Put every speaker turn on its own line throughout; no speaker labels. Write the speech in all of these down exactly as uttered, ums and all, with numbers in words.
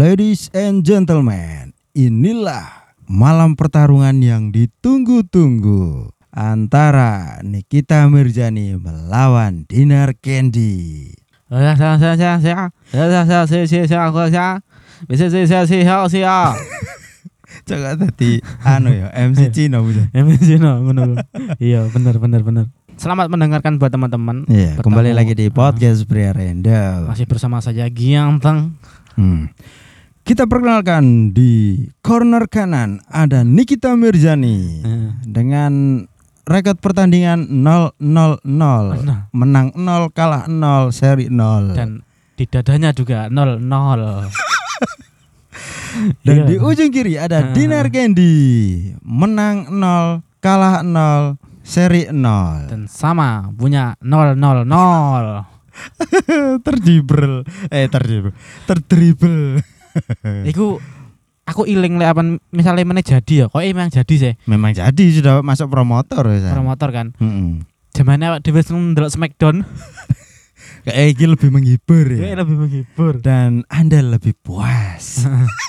Ladies and gentlemen, inilah malam pertarungan yang ditunggu-tunggu antara Nikita Mirzani melawan Dinar Candy. Coba tadi anu ya M C Cino bisa.
M C Cino ngono. Iya, benar benar benar. Selamat mendengarkan buat teman-teman.
Iya, kembali lagi di podcast Pria Random.
Masih bersama saya Gianteng.
Hmm. Kita perkenalkan di corner kanan ada Nikita Mirzani hmm. dengan rekod pertandingan nol nol nol, menang nol, kalah nol, seri nol.
Dan di dadanya juga nol nol.
Dan
iya.
Di ujung kiri ada Dinar Candy, menang nol, kalah nol, seri nol.
Dan sama punya nol nol nol.
Terdribble, eh terdribble, terdribble.
Iku aku iling lek apa misalnya mana jadi ya, kok emang jadi sih.
Memang jadi sudah masuk promotor ya.
Promotor kan.
Heeh.
Zamannya awak dhewe ndelok Smackdown.
Kayak iki lebih menghibur ya.
Kayak lebih menghibur
dan Anda lebih puas.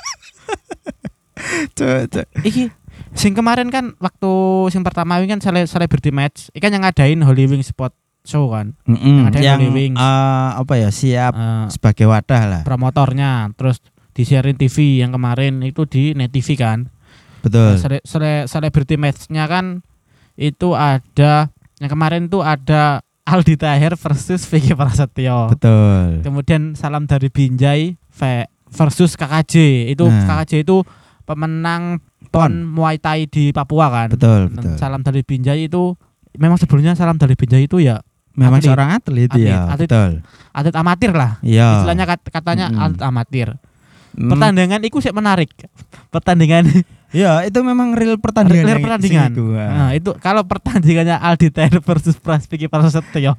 Cok,
iki sing kemarin kan waktu sing pertama ini kan sele- celebrity match, ikan yang ngadain Holy Wings Sport Show kan.
Mm-mm,
yang
yang uh, apa ya siap uh, sebagai wadah lah.
Promotornya, terus disiarin T V yang kemarin itu di Net T V kan.
Betul.
Nah, sele- sele- celebrity match-nya kan itu ada yang kemarin tuh ada Aldi Taher versus Vicky Prasetyo.
Betul.
Kemudian Salam dari Binjai versus K K J. Itu nah. K K J itu pemenang Pon Muay Thai di Papua kan.
Betul, betul.
Salam dari Binjai itu memang sebelumnya Salam dari Binjai itu ya
memang
atlet,
seorang atlet, atlet ya.
Atlet,
betul.
Atlet amatir lah.
Iya.
Istilahnya kat, katanya mm. atlet amatir. Mm. Pertandingan itu sih menarik. Pertandingan
ya, itu memang real pertandingan.
Real pertandingan.
Itu,
nah, itu kalau pertandingannya Aldi Taher versus Vicky Prasetyo.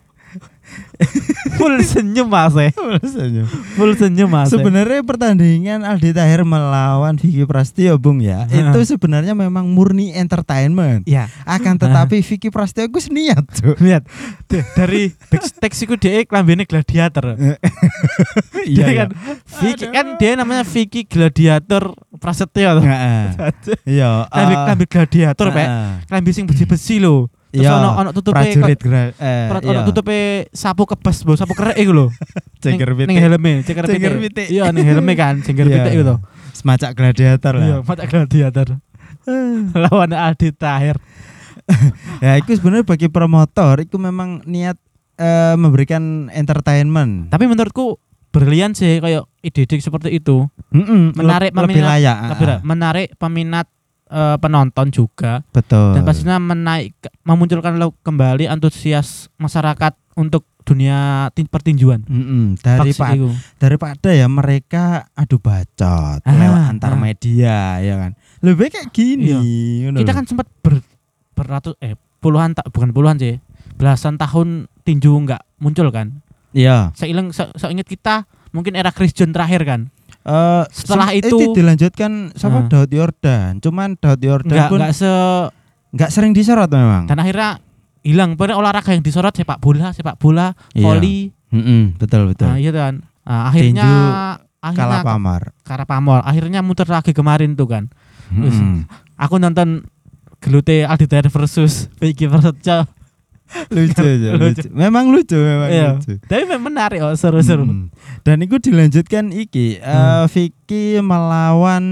Full senyum Mas.
Full senyum.
Full senyum Mas.
Sebenarnya pertandingan Aldi Taher melawan Vicky Prasetyo Bung ya. Itu sebenarnya memang murni entertainment.
Ya.
Akan tetapi Vicky Prasetyo gus niat tuh.
Niat. Dari backstage iku dhek klambine gladiator. Iya kan. Vicky kan dia namanya Vicky Gladiator Prasetyo.
Heeh. Iya.
Klambi gladiator Pak. Klambi sing besi-besi lho. Terus ono ono tutupe
prajurit gra- eh
ono tutupe sapu kebas, bo sapu kerek iku lho.
Ceker pitik.
Ning helme, ceker pitik. Iya ning helme kan, ceker pitik iku to.
Semacam gladiator lah.
Iya, semacam gladiator. Lawan Aldi Taher.
Ya itu sebenarnya bagi promotor itu memang niat uh, memberikan entertainment.
Tapi menurutku berlian sih kayak ide-ide seperti itu.
Mm-mm,
menarik
lebih
peminat,
layak.
Lebih, menarik peminat Uh, penonton juga.
Betul.
Dan pastinya menaik memunculkan kembali antusias masyarakat untuk dunia tin- pertinjuan.
Mm-mm, daripada daripada ya mereka adu bacot ah, lewat antar ah. media ya kan. Lebih kayak gini.
Iya. Kita kan sempat ber, beratus eh puluhan tak bukan puluhan sih. Belasan tahun tinju enggak muncul kan?
Iya.
Seiling se- seingat kita mungkin era Chris John terakhir kan.
Uh,
setelah
sem-
itu,
itu dilanjutkan sama uh, Daud Yordan, cuman Daud Yordan
enggak,
pun
enggak se
enggak sering disorot memang.
Dan akhirnya hilang. Pada olahraga yang disorot sepak bola, sepak bola, voli.
Iya. betul betul.
Nah, iya kan. Nah, akhirnya
Tinju
akhirnya
kalah pamor.
Kalah pamor. Akhirnya muter lagi kemarin tuh kan. Terus, aku nonton gelute Aldi Taher versus Vicky Prasetyo.
lucu aja, lucu. Memang lucu memang
iya.
lucu.
Tapi memang menarik oh, seru-seru.
Hmm. Dan itu dilanjutkan iki hmm. uh, Vicky melawan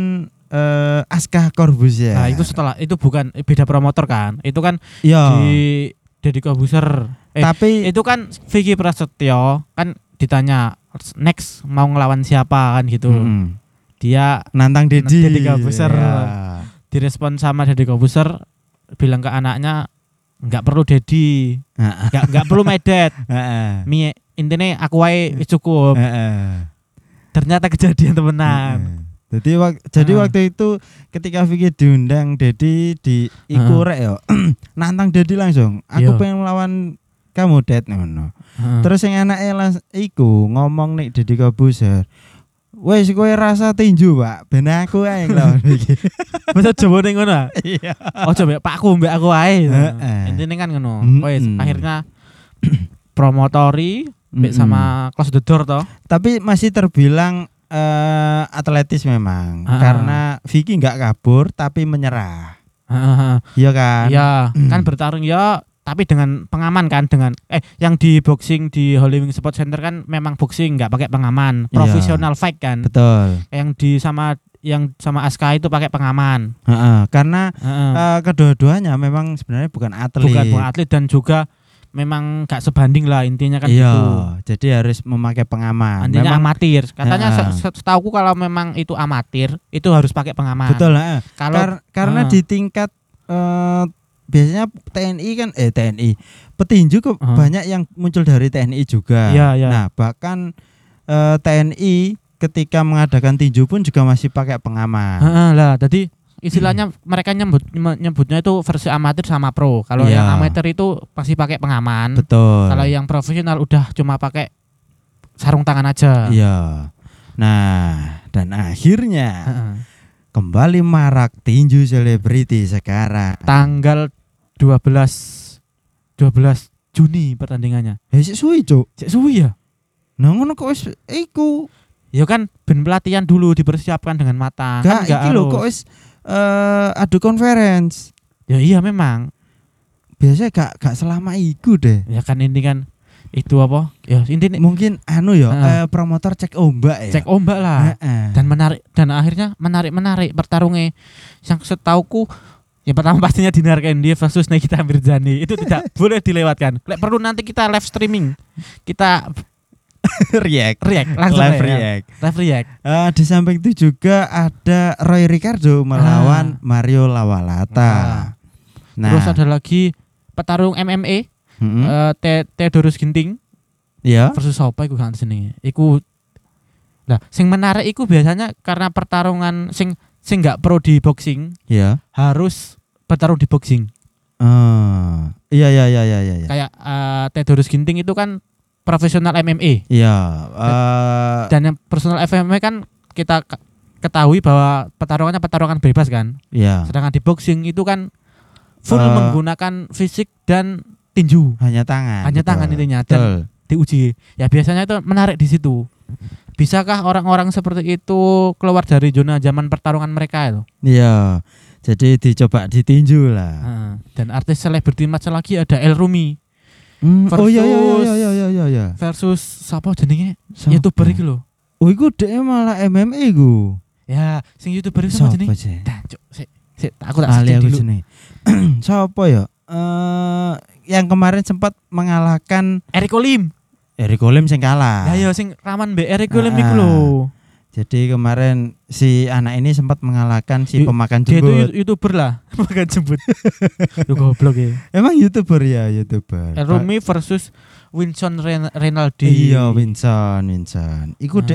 uh, Aska Corbuzier.
Nah, itu setelah itu bukan beda promotor kan. Itu kan
ya.
di Deddy Corbuzier. Eh,
Tapi
itu kan Vicky Prasetyo kan ditanya next mau ngelawan siapa kan gitu. Hmm. Dia
nantang Deddy.
Deddy Corbuzier.
Ya.
Direspon sama Deddy Corbuzier bilang ke anaknya enggak perlu Dedi. Enggak enggak perlu medet. Heeh. Mi intine aku wae wis cukup. Heeh. Ternyata kejadian temenan.
Jadi wak- jadi waktu itu ketika Vicky diundang Dedi di iku rek yo. Nantang Dedi langsung. Aku pengen melawan kamu Det ngono. Terus yang anake las- iku ngomong nih Deddy Corbuzier. Wes kowe rasa tinju, Pak. Ben aku ae nglawan iki.
Masa jawabane ngono?
Iya.
Ojo mbek pakku mbek aku ae. Intine kan ngono. Wes akhirnya promotori mbek sama Close the Door toh.
Tapi masih terbilang uh, atletis memang.
Ha-ha.
Karena Vicky nggak kabur tapi menyerah.
Ha-ha.
Iya kan?
Iya, kan bertarung ya tapi dengan pengaman kan dengan eh yang di boxing di Holy Wing Sport Center kan memang boxing nggak pakai pengaman, profesional fight kan.
Betul.
Yang di sama yang sama Aska itu pakai pengaman.
Ha-ha. Karena
Ha-ha.
uh, kedua-duanya memang sebenarnya bukan atlet.
Bukan bukan atlet dan juga memang gak sebanding lah intinya kan
iya,
gitu.
Jadi harus memakai pengaman.
Intinya
memang
amatir. Katanya
Ha-ha.
se- setauku kalau memang itu amatir itu harus pakai pengaman.
betul lah.
Kalau
Kar- karena
Ha.
di tingkat uh, biasanya T N I kan eh T N I petinju kok
Ha.
banyak yang muncul dari T N I juga.
Iya, iya.
Nah, bahkan uh, T N I ketika mengadakan tinju pun juga masih pakai pengaman.
Heeh lah, jadi istilahnya mereka nyebut nyebutnya itu versi amatir sama pro. Kalau
Iya.
yang amatir itu pasti pakai pengaman.
Betul.
Kalau yang profesional udah cuma pakai sarung tangan aja.
Iya. Nah, dan akhirnya
Heeh.
kembali marak tinju selebriti sekarang.
Tanggal dua belas dua belas Juni pertandingannya.
Eh sik suwi, Cuk.
Cek suwi ya.
Nah, ngono kok wis iku.
Ya kan ben pelatihan dulu dipersiapkan dengan matang.
Gak
Kan
iki lho kok wis eh adu conference.
Ya iya memang.
Biasanya gak gak selama iku deh.
Ya kan ini kan itu apa? Ya intinya
Mungkin anu ya,
Heeh.
eh, promotor cek ombak ya.
cek ombak lah.
Heeh.
Dan menarik dan akhirnya menarik-menarik pertarungnya. Yang setauku yang pertama pastinya Dinar Candy versus Nikita Mirzani. Itu tidak boleh dilewatkan. Lek perlu nanti kita live streaming. Kita
react.
react langsung
Live
ya.
react.
Live react.
Eh, di samping itu juga ada Roy Ricardo melawan Mario Lawalata.
Ah.
Nah,
Terus ada lagi petarung M M A
mm-mm.
eh, Te- Theodorus Ginting
ya.
versus apa iku kan sini. Iku Nah, sing menarik iku biasanya karena pertarungan sing sing enggak pro di boxing
Ya.
harus bertarung di boxing.
Ah, iya iya iya iya iya.
Kayak eh, Theodorus Ginting itu kan profesional M M A.
Iya, eh,
Dan yang personal F M A kan kita k- ketahui bahwa pertarungannya pertarungan bebas kan.
iya.
Sedangkan di boxing itu kan full
Eh,
menggunakan fisik dan tinju.
Hanya tangan.
Hanya
betul.
tangan intinya dan
Betul.
diuji. Ya biasanya itu menarik di situ. Bisakah orang-orang seperti itu keluar dari zona zaman pertarungan mereka itu?
Iya. Jadi dicoba ditinju lah.
Heeh. Dan artis selebriti match lagi ada El Rumi
Hmm, oh iya iya
versus-
iya iya iya iya iya.
versus siapa jenenge?
Siapa?
YouTuber iki lho.
Oh iku dhek malah M M A iku.
Ya, sing YouTuber itu siapa
Siapa
jenenge?
sih?
Dah, cuk, sik, sik, aku tak
Ali
searching
aku
dulu.
jenenge. Siapa ya? Eh yang kemarin sempat mengalahkan
Eric Olim.
Eric Olim sing kalah.
Lah ya sing raman mbek Eric Olim
Ah.
iku lho.
Jadi kemarin si anak ini sempat mengalahkan si
Di-
pemakan
Dia itu
jembut.
yu- YouTuber lah, bukan jembut. Lu goblok ya.
Emang YouTuber ya, YouTuber.
El Rumi versus Winston Ren- Renaldi.
Iya, Vincent, Vincent. Iku
Ah.
dhek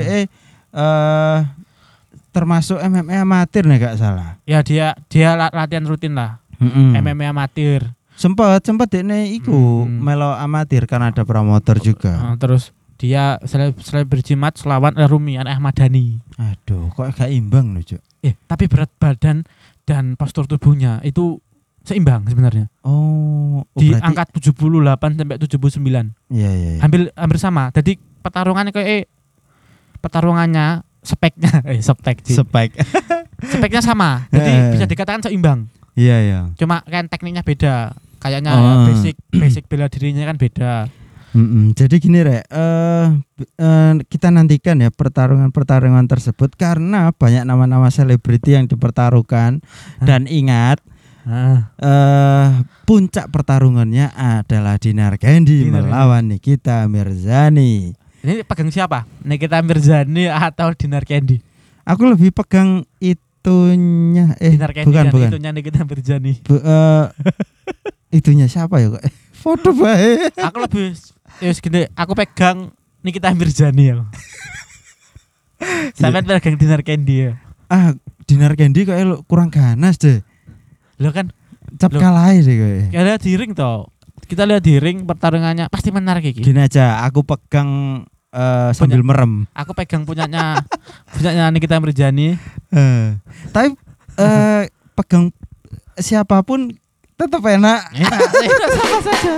eh termasuk M M A amatir nih gak salah.
Ya dia dia la- latihan rutin lah.
Mm-mm.
M M A amatir.
Sempat sempat dekne iku
Hmm.
melo amatir kan ada promotor juga.
Uh, terus dia sele- selebriti match lawan El Rumi anak Ahmad Dhani.
Aduh, kok gak imbang loh, Cuk.
Eh, tapi berat badan dan postur tubuhnya itu seimbang sebenarnya.
Oh, oh
Di
berarti-
angka tujuh puluh delapan sampai tujuh puluh sembilan.
Iya, iya, iya.
Hampir hampir sama. Jadi pertarungannya kayak eh, pertarungannya speknya eh spek sih.
Spike.
Speknya sama. Jadi
Eh.
bisa dikatakan seimbang.
Iya, iya.
Cuma kan tekniknya beda. Kayaknya
Oh.
basic basic bela dirinya kan beda.
Mm-mm. Jadi gini Rek, eh b- eh, kita nantikan ya pertarungan-pertarungan tersebut karena banyak nama-nama selebriti yang dipertaruhkan.
Hah?
Dan ingat
Nah,
eh puncak pertarungannya adalah Dinar Candy
Dinar
melawan Nikita Mirzani.
ini pegang siapa? Nikita Mirzani atau Dinar Candy?
Aku lebih pegang itunya eh
Dinar Candy
bukan
kan
bukan.
itunya Nikita Mirzani.
Bu- eh, itunya siapa ya kok? Foto bae.
Aku lebih ya wis gini, aku pegang Nikita Mirzani ya. Sampai pegang Dinar Candy ya.
Ah, Dinar Candy kok elu- kurang ganas deh.
Lo kan
Cap
Loh.
kalah deh kowe.
kita lihat di ring toh. Kita lihat di ring pertarungannya pasti menarik iki.
Gini aja, aku pegang eh, sambil merem.
Aku pegang punyanya punyanya Nikita Mirzani.
Eh, tapi eh, pegang siapapun tetap enak.
Enak, enak sama saja.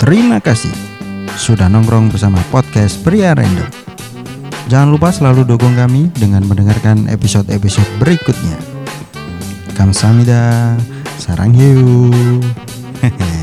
Terima kasih sudah nongkrong bersama podcast Pria Random. Jangan lupa selalu dukung kami dengan mendengarkan episode-episode berikutnya. Kamsahamnida, sarang hiu.